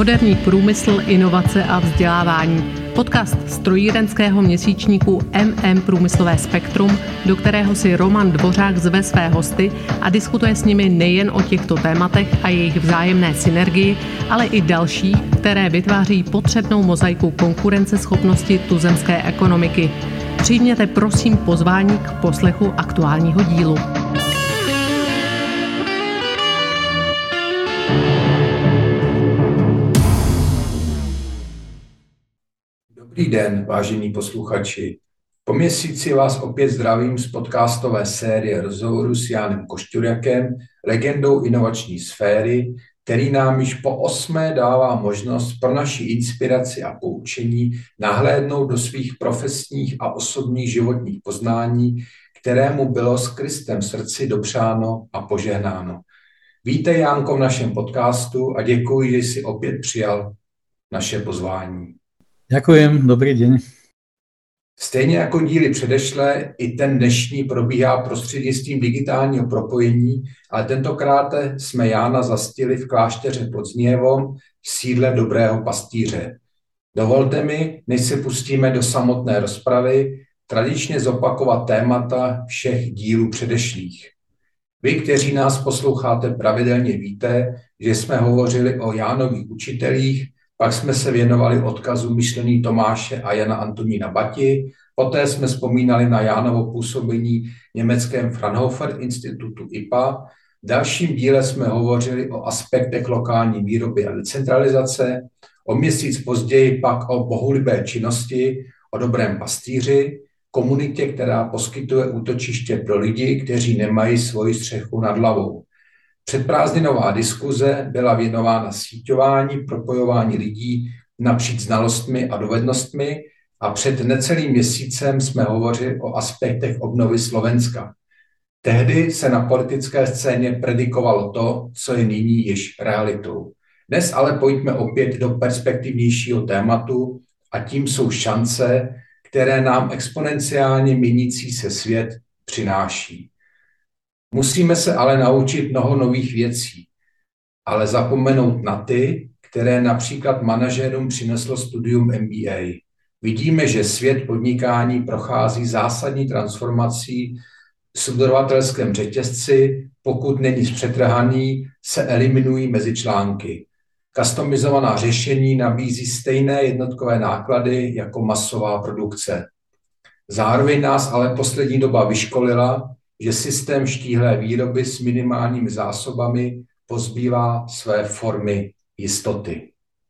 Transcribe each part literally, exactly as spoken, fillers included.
Moderní průmysl, inovace a vzdělávání. Podcast strojírenského měsíčníku M M Průmyslové spektrum, do kterého si Roman Dvořák zve své hosty a diskutuje s nimi nejen o těchto tématech a jejich vzájemné synergii, ale i další, které vytváří potřebnou mozaiku konkurenceschopnosti tuzemské ekonomiky. Přijměte prosím pozvání k poslechu aktuálního dílu. Dobrý den, vážení posluchači. Po měsíci vás opět zdravím z podcastové série rozhovorů s Jánem Košťurjakem, legendou inovační sféry, který nám již po osmé dává možnost pro naši inspiraci a poučení nahlédnout do svých profesních a osobních životních poznání, kterému bylo s Kristem v srdci dopřáno a požehnáno. Vítej, Jánko, v našem podcastu a děkuji, že jsi opět přijal naše pozvání. Ďakujem, dobrý deň. Stejně jako díly předešlé, i ten dnešní probíhá prostřednictvím digitálního propojení, ale tentokrát jsme Jána zastihli v klášteře pod Znijevom, v sídle Dobrého pastýře. Dovolte mi, než se pustíme do samotné rozpravy, tradičně zopakovat témata všech dílů předešlých. Vy, kteří nás posloucháte pravidelně, víte, že jsme hovořili o Jánových učitelích, pak jsme se věnovali odkazu myšlení Tomáše a Jana Antonína Bati, poté jsme vzpomínali na Jánovo působení v německém Fraunhofer institutu I P A. V dalším díle jsme hovořili o aspektech lokální výroby a decentralizace, o měsíc později pak o bohulibé činnosti, o dobrém pastýři, komunitě, která poskytuje útočiště pro lidi, kteří nemají svoji střechu nad hlavou. Předprázdninová diskuze byla věnována síťování, propojování lidí napříč znalostmi a dovednostmi a před necelým měsícem jsme hovořili o aspektech obnovy Slovenska. Tehdy se na politické scéně predikovalo to, co je nyní již realitou. Dnes ale pojďme opět do perspektivnějšího tématu a tím jsou šance, které nám exponenciálně měnící se svět přináší. Musíme se ale naučit mnoho nových věcí, ale zapomenout na ty, které například manažerům přineslo studium M B A. Vidíme, že svět podnikání prochází zásadní transformací v subdodavatelském řetězci, pokud není zpřetrhaný, se eliminují mezi články. Customizovaná řešení nabízí stejné jednotkové náklady jako masová produkce. Zároveň nás ale poslední doba vyškolila, že systém štíhlé výroby s minimálními zásobami pozbývá své formy jistoty.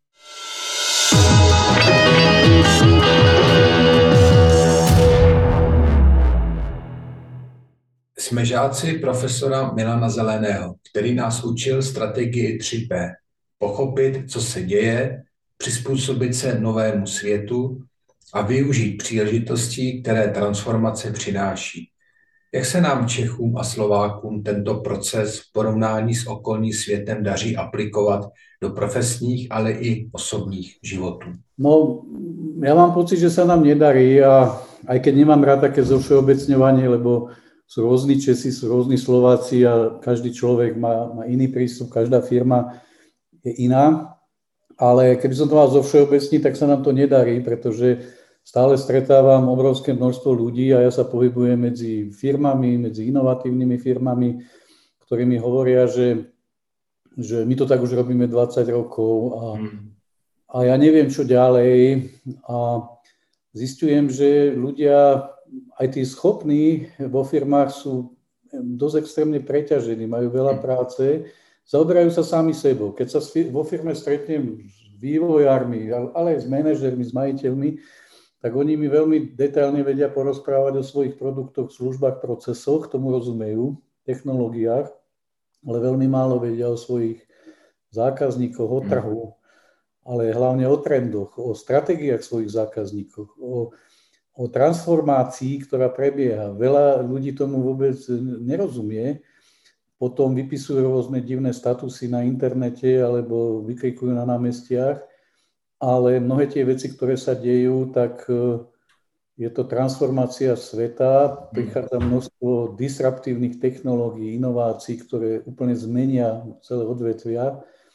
Jsme žáci profesora Milana Zeleného, který nás učil strategii tři P. Pochopit, co se děje, přizpůsobit se novému světu a využít příležitostí, které transformace přináší. Jak se nám Čechům a Slovákům tento proces v porovnání s okolním světem daří aplikovat do profesních, ale i osobních životů? No, ja mám pocit, že sa nám nedarí a aj keď nemám rád také zovšeobecňovanie, lebo sú rôzni Česi, sú rôzni Slováci a každý človek má, má iný prístup, každá firma je iná, ale keby som to mal zovšeobecniť, tak sa nám to nedarí, pretože stále stretávam obrovské množstvo ľudí a ja sa pohybujem medzi firmami, medzi inovatívnymi firmami, ktorí mi hovoria, že, že my to tak už robíme dvadsať rokov a, a ja neviem, čo ďalej. A zistujem, že ľudia, aj tí schopní vo firmách sú dosť extrémne preťažení, majú veľa práce, zaoberajú sa sami sebou. Keď sa vo firme stretnem s vývojármi, ale aj s manažermi, s majiteľmi, tak oni mi veľmi detailne vedia porozprávať o svojich produktoch, službách, procesoch, tomu rozumejú, technológiách, ale veľmi málo vedia o svojich zákazníkoch, o trhu, ale hlavne o trendoch, o stratégiách svojich zákazníkov, o, o transformácii, ktorá prebieha. Veľa ľudí tomu vôbec nerozumie, potom vypisujú rôzne divné statusy na internete alebo vykrikujú na námestiach, ale mnohé tie veci, ktoré sa dejú, tak je to transformácia sveta, prichádza množstvo disruptívnych technológií, inovácií, ktoré úplne zmenia celé odvetvia a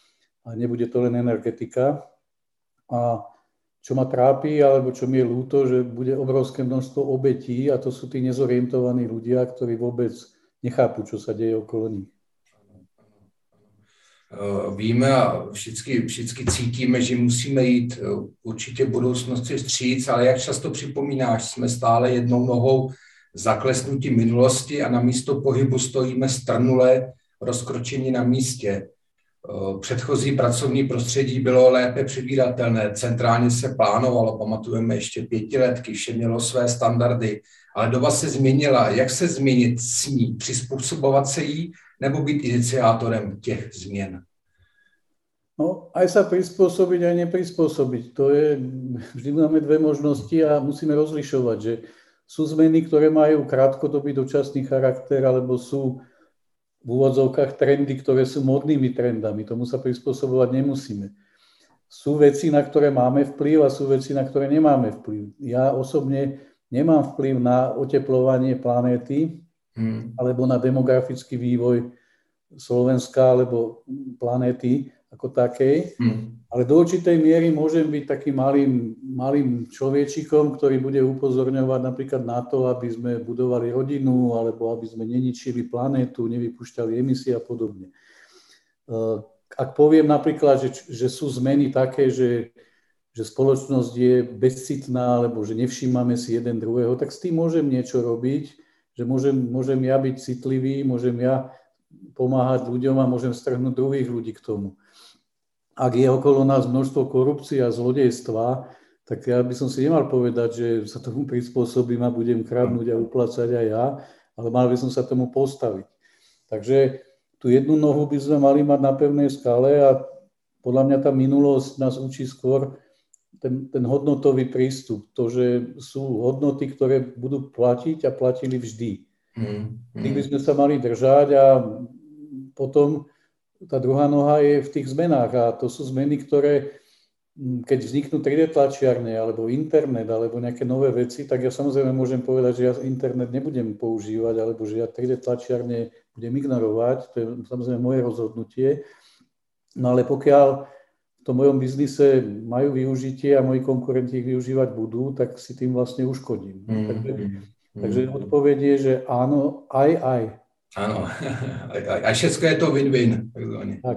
a nebude to len energetika. A čo ma trápi, alebo čo mi je ľúto, že bude obrovské množstvo obetí a to sú tí nezorientovaní ľudia, ktorí vôbec nechápu, čo sa deje okolo nich. Víme a vždycky, vždycky cítíme, že musíme jít určitě v budoucnosti vstříc, ale jak často připomínáš, jsme stále jednou nohou zaklesnutí minulosti a na místo pohybu stojíme strnule rozkročení na místě. Předchozí pracovní prostředí bylo lépe předvídatelné, centrálně se plánovalo, pamatujeme ještě pětiletky, vše mělo své standardy, ale doba se změnila. Jak se změnit s ní? Přizpůsobovat se jí nebo být iniciátorem těch změn? No, aj sa prispôsobiť, aj neprispôsobiť. To je, vždy máme dve možnosti a musíme rozlišovať, že sú zmeny, ktoré majú krátkodobý dočasný charakter, alebo sú v úvodzovkách trendy, ktoré sú modnými trendami. Tomu sa prispôsobovať nemusíme. Sú veci, na ktoré máme vplyv a sú veci, na ktoré nemáme vplyv. Ja osobne nemám vplyv na oteplovanie planéty hmm. alebo na demografický vývoj Slovenska alebo planéty ako takej, hmm. ale do určitej miery môžem byť takým malým, malým človečikom, ktorý bude upozorňovať napríklad na to, aby sme budovali rodinu, alebo aby sme neničili planétu, nevypúšťali emisie a podobne. Ak poviem napríklad, že, že sú zmeny také, že, že spoločnosť je bezcitná, alebo že nevšímame si jeden druhého, tak s tým môžem niečo robiť, že môžem, môžem ja byť citlivý, môžem ja pomáhať ľuďom a môžem strhnúť druhých ľudí k tomu. Ak je okolo nás množstvo korupcie a zlodejstva, tak ja by som si nemal povedať, že sa tomu prispôsobím a budem kradnúť a uplácať aj ja, ale mal by som sa tomu postaviť. Takže tú jednu nohu by sme mali mať na pevnej skale a podľa mňa tá minulosť nás učí skôr ten, ten hodnotový prístup. To, že sú hodnoty, ktoré budú platiť a platili vždy. Mm, mm. Tých by sme sa mali držať a potom tá druhá noha je v tých zmenách a to sú zmeny, ktoré keď vzniknú tri dé tlačiarne alebo internet alebo nejaké nové veci, tak ja samozrejme môžem povedať, že ja internet nebudem používať alebo že ja tri dé tlačiarne budem ignorovať, to je samozrejme moje rozhodnutie. No ale pokiaľ v tom mojom biznise majú využitie a moji konkurenti ich využívať budú, tak si tým vlastne uškodím. Mm, takže, mm, takže odpoveď je, že áno, aj, aj. Ano, a všechno je to win-win. Tak.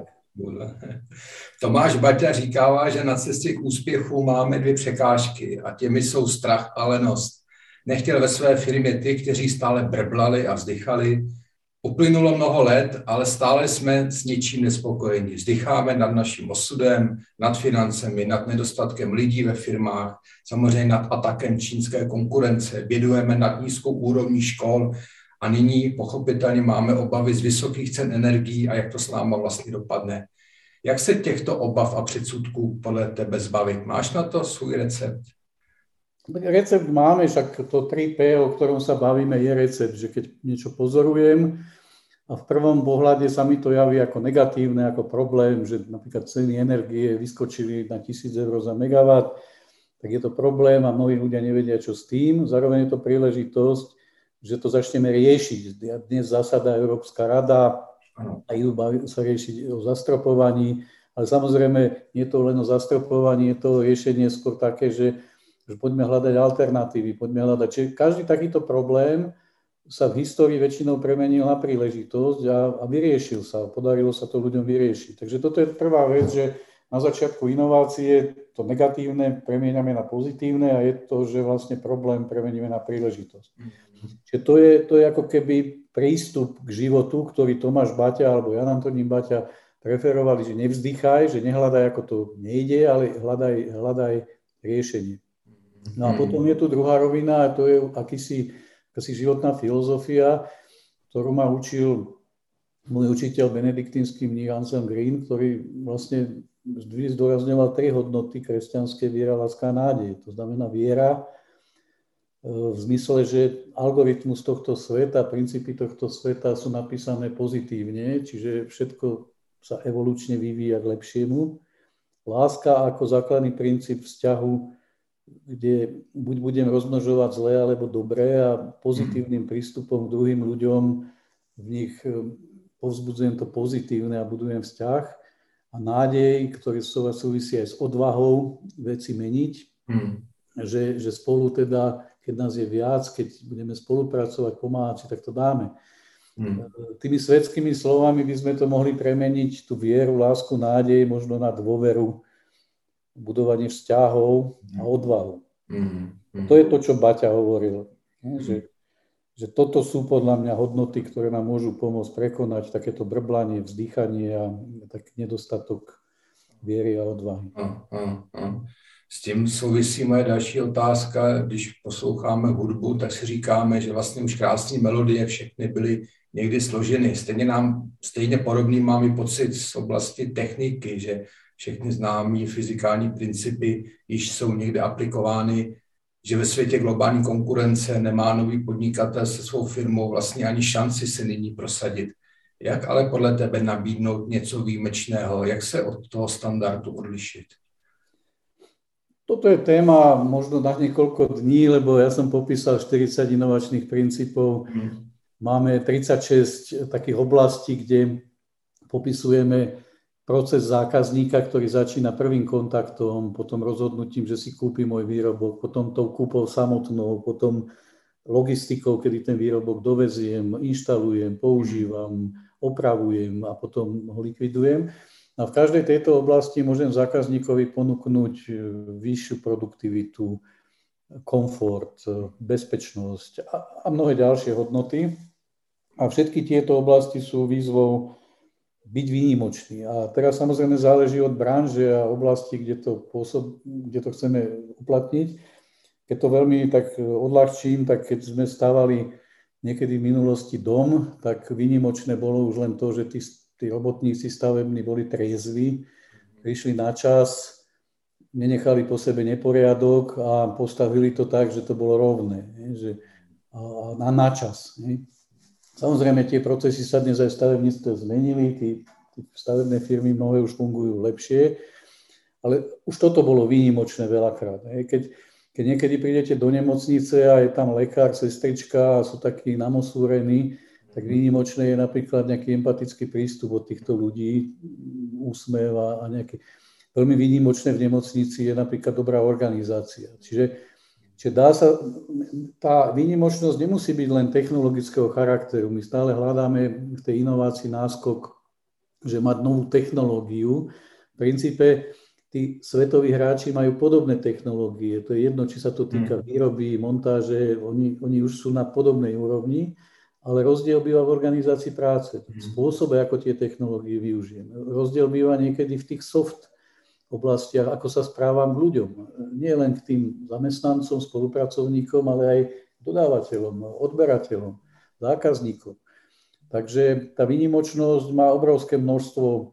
Tomáš Baťa říkává, že na cestě k úspěchu máme dvě překážky a těmi jsou strach a lenost. Nechtěl ve své firmě ty, kteří stále brblali a vzdychali. Uplynulo mnoho let, ale stále jsme s něčím nespokojeni. Vzdycháme nad naším osudem, nad financemi, nad nedostatkem lidí ve firmách, samozřejmě nad atakem čínské konkurence, bědujeme nad nízkou úrovní škol. A nyní pochopitelně máme obavy z vysokých cen energií a jak to s náma vlastně dopadne. Jak se těchto obav a předsudků podle tebe zbavit? Máš na to svůj recept? Recept máme, však to tri pé, o ktorom sa bavíme, je recept, že keď niečo pozorujem a v prvom pohľade sa mi to javí ako negatívne, ako problém, že napríklad ceny energie vyskočili na tisíc eur za megawatt, tak je to problém a mnohí ľudia nevedia, čo s tým. Zároveň je to príležitosť, že to začneme riešiť. Dnes zasadá Európska rada a idú sa riešiť o zastropovaní, ale samozrejme nie je to len o zastropovaní, je to riešenie skôr také, že, že poďme hľadať alternatívy, poďme hľadať. Čiže každý takýto problém sa v histórii väčšinou premenil na príležitosť a, a vyriešil sa, podarilo sa to ľuďom vyriešiť. Takže toto je prvá vec, že na začiatku inovácie to negatívne premieňame na pozitívne a je to, že vlastne problém premeníme na príležitosť. Čiže to je, to je ako keby prístup k životu, ktorý Tomáš Baťa alebo Jan Antonín Baťa preferovali, že nevzdychaj, že nehľadaj, ako to nejde, ale hľadaj, hľadaj riešenie. No a potom je tu druhá rovina a to je akýsi, akýsi životná filozofia, ktorú ma učil môj učiteľ benediktínsky mních Anselm Green, ktorý vlastne vždy zdôrazňoval tri hodnoty kresťanské: viera, láska a nádej. To znamená viera v zmysle, že algoritmus tohto sveta, princípy tohto sveta sú napísané pozitívne, čiže všetko sa evolučne vyvíja k lepšiemu. Láska ako základný princíp vzťahu, kde buď budem rozmnožovať zlé alebo dobré a pozitívnym prístupom k druhým ľuďom v nich povzbudzujem to pozitívne a budujem vzťah. a nádej, ktorý súvisí aj s odvahou veci meniť, hmm. že, že spolu teda, keď nás je viac, keď budeme spolupracovať, pomáhať si, tak to dáme. Hmm. Tými svetskými slovami by sme to mohli premeniť, tú vieru, lásku, nádej, možno na dôveru, budovanie vzťahov a odvahu. Hmm. Hmm. To je to, čo Baťa hovoril. Hmm. Že, že toto sú podľa mňa hodnoty, ktoré nám môžu pomôcť prekonať takéto brblanie, vzdychanie a taký nedostatok viery a odvahy. A, a, a. S tím souvisí moje další otázka. Když posloucháme hudbu, tak si říkáme, že vlastně už krásné melodie všechny byly někdy složeny. Stejně nám, stejně podobný mám i pocit z oblasti techniky, že všechny známé fyzikální principy již jsou někde aplikovány, že ve světě globální konkurence nemá nový podnikatel se svou firmou vlastně ani šanci se nyní prosadit. Jak ale podle tebe nabídnout něco výjimečného? Jak se od toho standardu odlišit? Toto je téma možno na niekoľko dní, lebo ja som popísal štyridsať inovačných princípov. Hmm. Máme tridsaťšesť takých oblastí, kde popisujeme proces zákazníka, ktorý začína prvým kontaktom, potom rozhodnutím, že si kúpi môj výrobok, potom tou kúpou samotnou, potom logistikou, kedy ten výrobok doveziem, inštalujem, používam, opravujem a potom ho likvidujem. A v každej tejto oblasti môžem zákazníkovi ponúknuť vyššiu produktivitu, komfort, bezpečnosť a, a mnohé ďalšie hodnoty. A všetky tieto oblasti sú výzvou byť výnimočný. A teraz samozrejme záleží od branže a oblasti, kde to, pôsob, kde to chceme uplatniť. Keď to veľmi tak odľahčím, tak keď sme stavali niekedy v minulosti dom, tak výnimočné bolo už len to, že tí Tí robotníci stavební boli triezvi, prišli na čas, nenechali po sebe neporiadok a postavili to tak, že to bolo rovné, že a na čas. Samozrejme, tie procesy sa dnes aj v stavebníctve zmenili, tí, tí stavebné firmy mnohé už fungujú lepšie, ale už toto bolo výnimočné veľakrát. Keď, keď niekedy prídete do nemocnice a je tam lekár, sestrička a sú takí namosúrení, tak výnimočné je napríklad nejaký empatický prístup od týchto ľudí, úsmev a, a nejaké. Veľmi výnimočné v nemocnici je napríklad dobrá organizácia. Čiže, čiže dá sa, tá výnimočnosť nemusí byť len technologického charakteru. My stále hľadáme v tej inovácii náskok, že mať novú technológiu. V princípe tí svetoví hráči majú podobné technológie. To je jedno, či sa to týka výroby, montáže, oni, oni už sú na podobnej úrovni. Ale rozdiel býva v organizácii práce, v spôsobe, ako tie technológie využijem. Rozdiel býva niekedy v tých soft oblastiach, ako sa správam k ľuďom. Nie len k tým zamestnancom, spolupracovníkom, ale aj dodávateľom, odberateľom, zákazníkom. Takže tá výnimočnosť má obrovské množstvo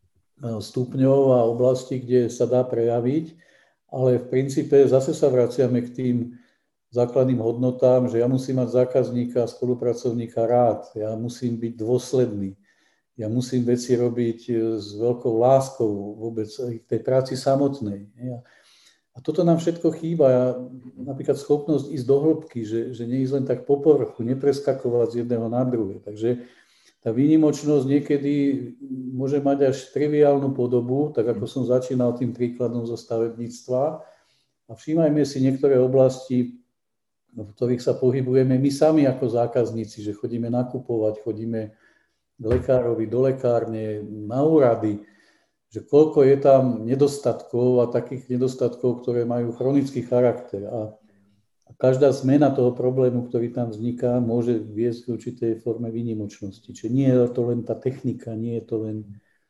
stupňov a oblastí, kde sa dá prejaviť, ale v princípe zase sa vraciame k tým základným hodnotám, že ja musím mať zákazníka a spolupracovníka rád, ja musím byť dôsledný, ja musím veci robiť s veľkou láskou vôbec v tej práci samotnej. A toto nám všetko chýba, napríklad schopnosť ísť do hĺbky, že, že neísť len tak po povrchu, nepreskakovať z jedného na druhé. Takže tá výnimočnosť niekedy môže mať až triviálnu podobu, tak ako som začínal tým príkladom zo stavebníctva. A všímajme si niektoré oblasti, v ktorých sa pohybujeme my sami ako zákazníci, že chodíme nakupovať, chodíme k lekárovi, do lekárne, na úrady, že koľko je tam nedostatkov a takých nedostatkov, ktoré majú chronický charakter. A, a každá zmena toho problému, ktorý tam vzniká, môže viesť k určitej forme výnimočnosti. Čiže nie je to len tá technika, nie je to len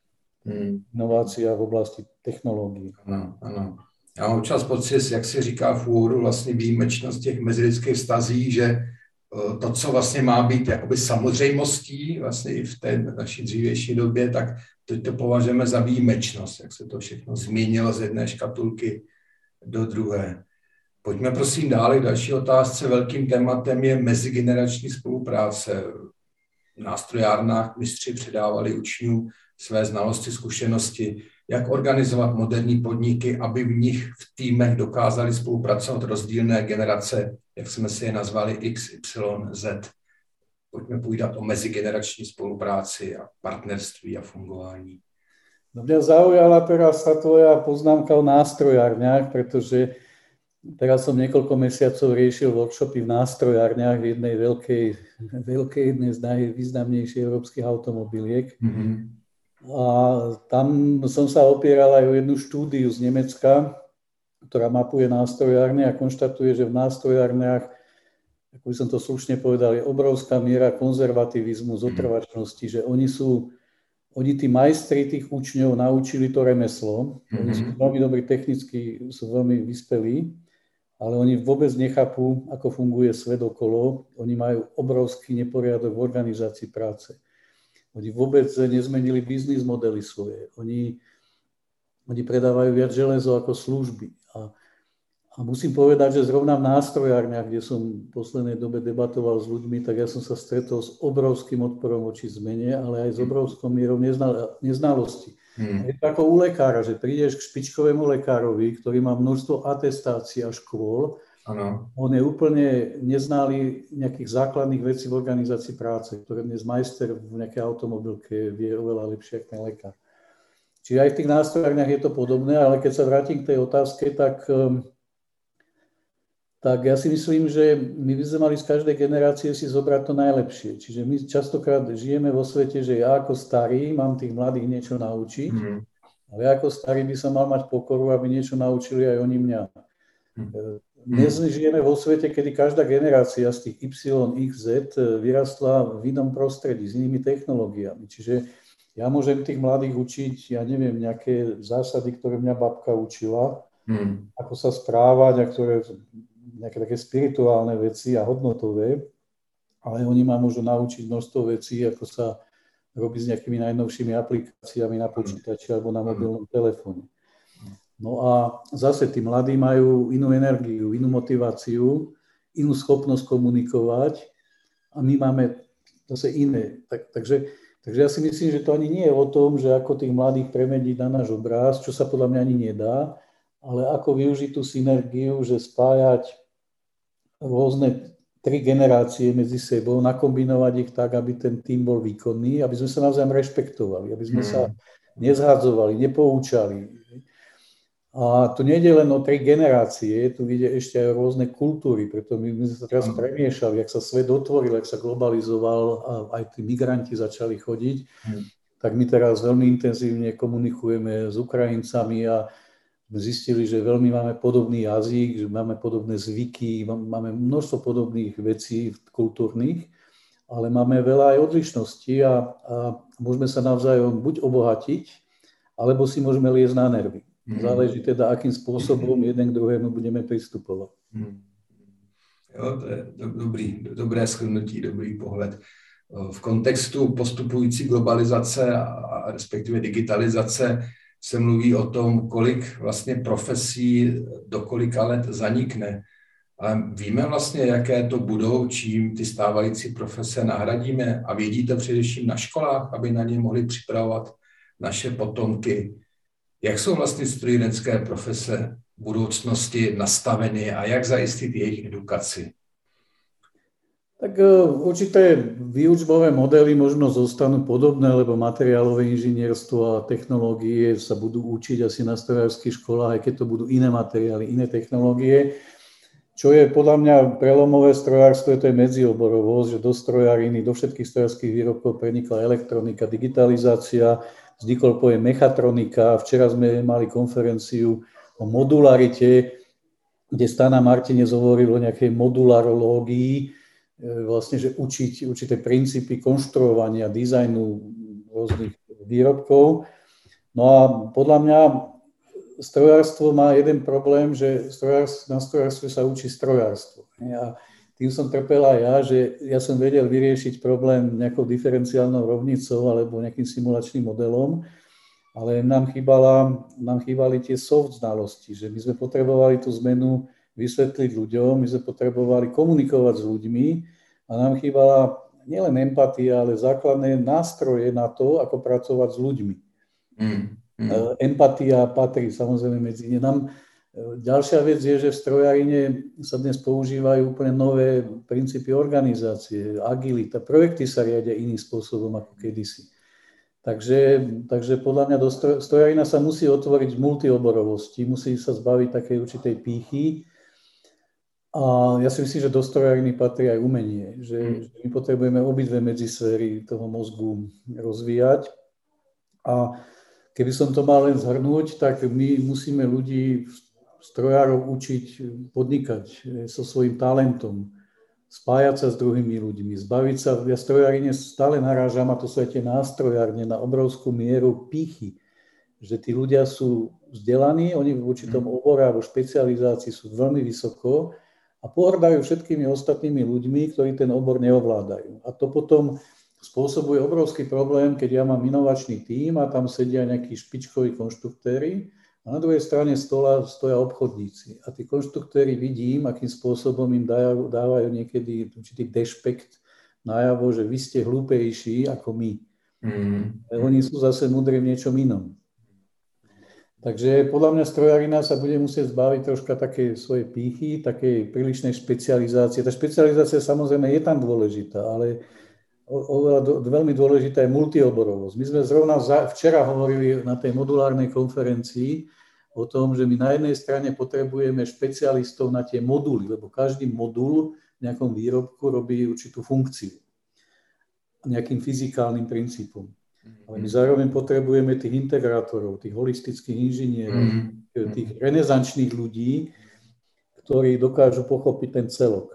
inovácia v oblasti technológií. Ano, ano. Já mám občas pocit, jak se říká v úvodu, vlastně výjimečnost těch mezilidských vztazí, že to, co vlastně má být jakoby samozřejmostí vlastně i v té naší dřívější době, tak teď to považujeme za výjimečnost, jak se to všechno změnilo z jedné škatulky do druhé. Pojďme prosím dále k další otázce. Velkým tématem je mezigenerační spolupráce. V nástrojárnách mistři předávali učňům své znalosti, zkušenosti, jak organizovat moderní podniky, aby v nich v týmech dokázali spolupracovat rozdílné generace, jak jsme si je nazvali X, Y, Z. Pojďme povídat o mezigenerační spolupráci a partnerství a fungování. No mňa zaujala teraz tá tvoja poznámka o nástrojárniach, pretože teraz som niekoľko mesiacov riešil workshopy v nástrojárniach v jednej veľkej, veľkej jednej z najvýznamnejších európskych automobiliek. Mm-hmm. A tam som sa opieral aj o jednu štúdiu z Nemecka, ktorá mapuje nástrojárne a konštatuje, že v nástrojárniach, ako by som to slušne povedal, je obrovská miera konzervativizmu, zotrvačnosti, že oni sú, oni tí majstri tých učňov naučili to remeslo, oni sú veľmi dobrí technicky, sú veľmi vyspelí, ale oni vôbec nechápu, ako funguje svet okolo. Oni majú obrovský neporiadok v organizácii práce. Oni vôbec nezmenili biznis modely svoje. Oni, oni predávajú viac železo ako služby. A, a musím povedať, že zrovna v nástrojárniach, kde som v poslednej dobe debatoval s ľuďmi, tak ja som sa stretol s obrovským odporom voči zmene, ale aj s obrovskou mierou neznal, neznalosti. Hmm. Je to ako u lekára, že prídeš k špičkovému lekárovi, ktorý má množstvo atestácií a škôl. Ano. On je úplne neznalý nejakých základných vecí v organizácii práce, ktoré dnes majster v nejakej automobilke vie oveľa lepšie ako ten lekár. Čiže aj v tých nástrojárniach je to podobné, ale keď sa vrátim k tej otázke, tak, tak ja si myslím, že my by sme mali z každej generácie si zobrať to najlepšie. Čiže my častokrát žijeme vo svete, že ja ako starý mám tých mladých niečo naučiť, mm. ale ja ako starý by som mal mať pokoru, aby niečo naučili aj oni mňa. Mm. Dnes žijeme vo svete, kedy každá generácia z tých Y, X, Z vyrastla v inom prostredí, s inými technológiami. Čiže ja môžem tých mladých učiť, ja neviem, nejaké zásady, ktoré mňa babka učila, mm. ako sa správať a ktoré... nejaké také spirituálne veci a hodnotové, ale oni ma môžu naučiť množstvo vecí, ako sa robí s nejakými najnovšími aplikáciami na počítači alebo na mobilnom telefóne. No a zase tí mladí majú inú energiu, inú motiváciu, inú schopnosť komunikovať a my máme zase iné. Tak, takže, takže ja si myslím, že to ani nie je o tom, že ako tých mladých premeniť na náš obraz, čo sa podľa mňa ani nedá, ale ako využiť tú synergiu, že spájať rôzne tri generácie medzi sebou, nakombinovať ich tak, aby ten tím bol výkonný, aby sme sa navzájom rešpektovali, aby sme sa nezhadzovali, nepoučali. A tu nejde len o tri generácie, tu ide ešte aj o rôzne kultúry, preto my, my sme sa teraz premiešali, jak sa svet otvoril, jak sa globalizoval a aj tí migranti začali chodiť, hmm. tak my teraz veľmi intenzívne komunikujeme s Ukrajincami a zistili, že veľmi máme podobný jazyk, že máme podobné zvyky, máme množstvo podobných vecí kultúrnych, ale máme veľa aj odlišností a, a môžeme sa navzájom buď obohatiť, alebo si môžeme liesť na nervy. Záleží teda, akým spôsobom jeden k druhému budeme pristupovať. Jo, to je dobrý, dobré shrnutí, dobrý pohled. V kontextu postupující globalizace a respektive digitalizace se mluví o tom, kolik vlastně profesí do kolika let zanikne. Ale víme vlastně, jaké to budou, čím ty stávající profese nahradíme a vědí to především na školách, aby na ně mohli připravovat naše potomky. Jak jsou vlastně strojírenské profese v budoucnosti nastaveny a jak zajistit jejich edukaci? Tak určité výučbové modely možno zostanú podobné, lebo materiálové inžinierstvo a technológie sa budú učiť asi na strojárskych školách, aj keď to budú iné materiály, iné technológie. Čo je podľa mňa prelomové strojárstvo, to je medzioborovosť, že do strojáriny, do všetkých strojárskych výrobkov prenikla elektronika, digitalizácia, vznikol pojem mechatronika. Včera sme mali konferenciu o modularite, kde Stana Martinec hovoril o nejakej modularológii, vlastne, že učiť určité princípy konštruovania, dizajnu rôznych výrobkov. No a podľa mňa strojárstvo má jeden problém, že strojárstvo, na strojárstve sa učí strojárstvo. A tým som trpel aj ja, že ja som vedel vyriešiť problém nejakou diferenciálnou rovnicou alebo nejakým simulačným modelom, ale nám, chýbala, nám chýbali tie soft znalosti, že my sme potrebovali tú zmenu vysvetliť ľuďom, my sme potrebovali komunikovať s ľuďmi a nám chýbala nielen empatia, ale základné nástroje na to, ako pracovať s ľuďmi. Mm, mm. Empatia patrí samozrejme medzi ne. Nám, ďalšia vec je, že v strojárine sa dnes používajú úplne nové princípy organizácie, agilita, projekty sa riadia iným spôsobom ako kedysi. Takže, takže podľa mňa do strojarina sa musí otvoriť v multioborovosti, musí sa zbaviť takej určitej pýchy. A ja si myslím, že do strojariny patrí aj umenie, že, mm. že my potrebujeme obidve medzisféry toho mozgu rozvíjať. A keby som to mal len zhrnúť, tak my musíme ľudí, strojárov učiť podnikať so svojím talentom, spájať sa s druhými ľuďmi, zbaviť sa, ja strojárine stále narážam, a to sú aj tie nástrojárne, na obrovskú mieru pýchy, že tí ľudia sú vzdelaní, oni v určitom obore alebo špecializácii sú veľmi vysoko a pohrdajú všetkými ostatnými ľuďmi, ktorí ten obor neovládajú. A to potom spôsobuje obrovský problém, keď ja mám inovačný tím a tam sedia nejakí špičkoví konštruktéri, a na druhej strane stola stoja obchodníci. A tí konštruktéri vidím, akým spôsobom im dávajú, dávajú niekedy určitý dešpekt najavo, že vy ste hlúpejší ako my. Mm. Oni sú zase múdri v niečom inom. Takže podľa mňa strojarina sa bude musieť zbaviť troška takej svojej pýchy, takej prílišnej špecializácie. Tá špecializácia samozrejme je tam dôležitá, ale oveľa do, veľmi dôležitá je multioborovosť. My sme zrovna za, včera hovorili na tej modulárnej konferencii o tom, že my na jednej strane potrebujeme špecialistov na tie moduly, lebo každý modul v nejakom výrobku robí určitú funkciu nejakým fyzikálnym princípom. Ale my zároveň potrebujeme tých integrátorov, tých holistických inžinierov, mm. tých renesančných ľudí, ktorí dokážu pochopiť ten celok.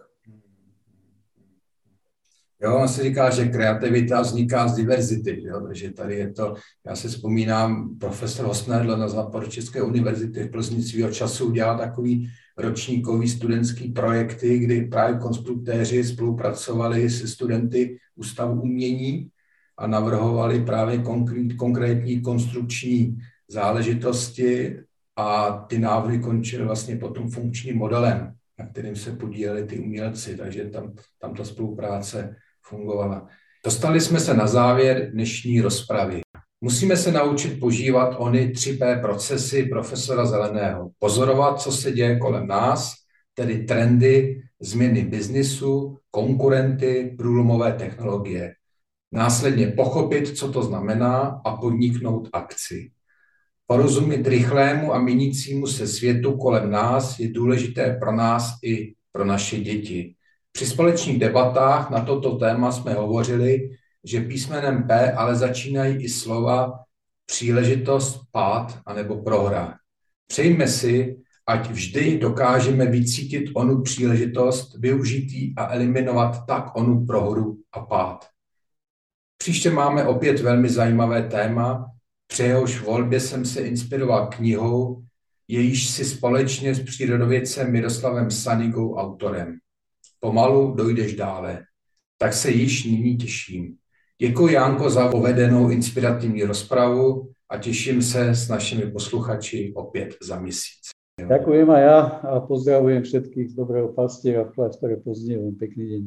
Jo, on se říká, že kreativita vzniká z diverzity, jo? Takže tady je to, já si vzpomínám, profesor Hosnedl na Západočeské univerzity v Plzni svýho času udělal takový ročníkový studentský projekty, kdy právě konstruktéři spolupracovali se studenty Ústavu umění a navrhovali právě konkrétní konstrukční záležitosti a ty návrhy končily vlastně potom funkčním modelem, na kterým se podíleli ty umělci, takže tam, tam ta spolupráce fungovala. Dostali jsme se na závěr dnešní rozpravy. Musíme se naučit požívat ony tři P procesy profesora Zeleného. Pozorovat, co se děje kolem nás, tedy trendy, změny biznisu, konkurenty, průlomové technologie. Následně pochopit, co to znamená a podniknout akci. Porozumět rychlému a měnícímu se světu kolem nás je důležité pro nás i pro naše děti. Při společných debatách na toto téma jsme hovořili, že písmenem P ale začínají i slova příležitost, pád anebo prohra. Přejme si, ať vždy dokážeme vycítit onu příležitost, využít a eliminovat tak onu prohru a pád. Příště máme opět velmi zajímavé téma, při jehož volbě jsem se inspiroval knihou, jejíž si společně s přírodovědcem Miroslavem Sanigou autorem. Pomalu dojdeš dále. Tak se již nyní těším. Děkuji, Janko, za povedenou inspirativní rozpravu a těším se s našimi posluchači opět za měsíc. Ďakujem aj ja a pozdravujem všetkých z dobrého pastiera v kláštore pod Znievom. Pekný deň.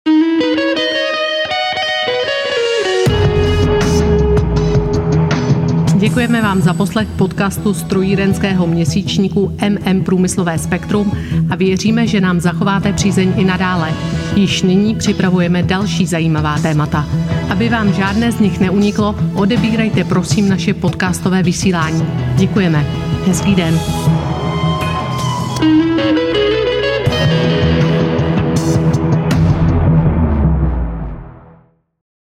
Děkujeme vám za poslech podcastu strojírenského měsíčníku M M Průmyslové spektrum a věříme, že nám zachováte přízeň i nadále. Již nyní připravujeme další zajímavá témata. Aby vám žádné z nich neuniklo, odebírejte prosím naše podcastové vysílání. Děkujeme. Hezký den.